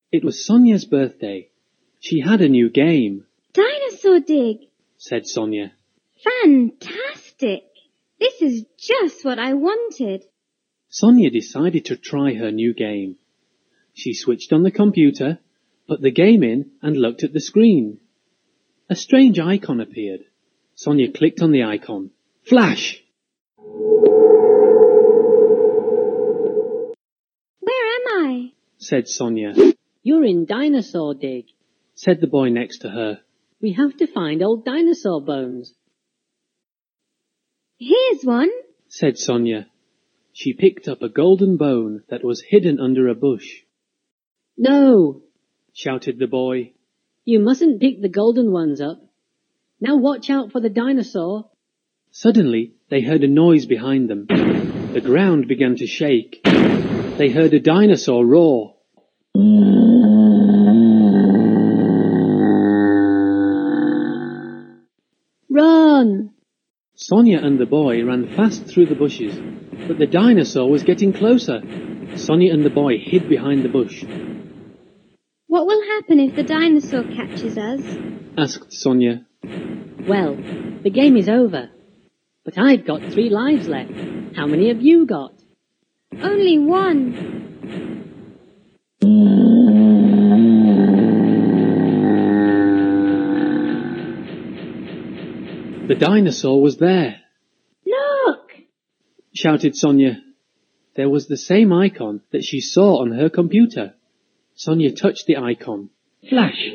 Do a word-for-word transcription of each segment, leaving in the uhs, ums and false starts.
It was Sonia's birthday. She had a new game. Dinosaur Dig, said Sonia. Fantastic! This is just what I wanted. Sonia decided to try her new game. She switched on the computer, put the game in and looked at the screen. A strange icon appeared. Sonia clicked on the icon. Flash! Where am I? said Sonia. You're in Dinosaur Dig, said the boy next to her. We have to find old dinosaur bones. Here's one, said Sonia. She picked up a golden bone that was hidden under a bush. No, shouted the boy. You mustn't pick the golden ones up. Now watch out for the dinosaur. Suddenly, they heard a noise behind them. The ground began to shake. They heard a dinosaur roar. Run! Sonia and the boy ran fast through the bushes, but the dinosaur was getting closer. Sonia and the boy hid behind the bush. What will happen if the dinosaur catches us? asked Sonia. Well, the game is over. But I've got three lives left. How many have you got? Only one. The dinosaur was there. Look! shouted Sonia. There was the same icon that she saw on her computer. Sonia touched the icon. Flash!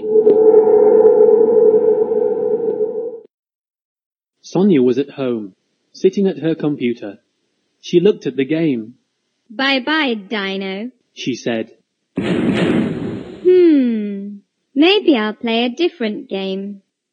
Sonia was at home, sitting at her computer. She looked at the game. Bye-bye, Dino, she said. Hmm, maybe I'll play a different game.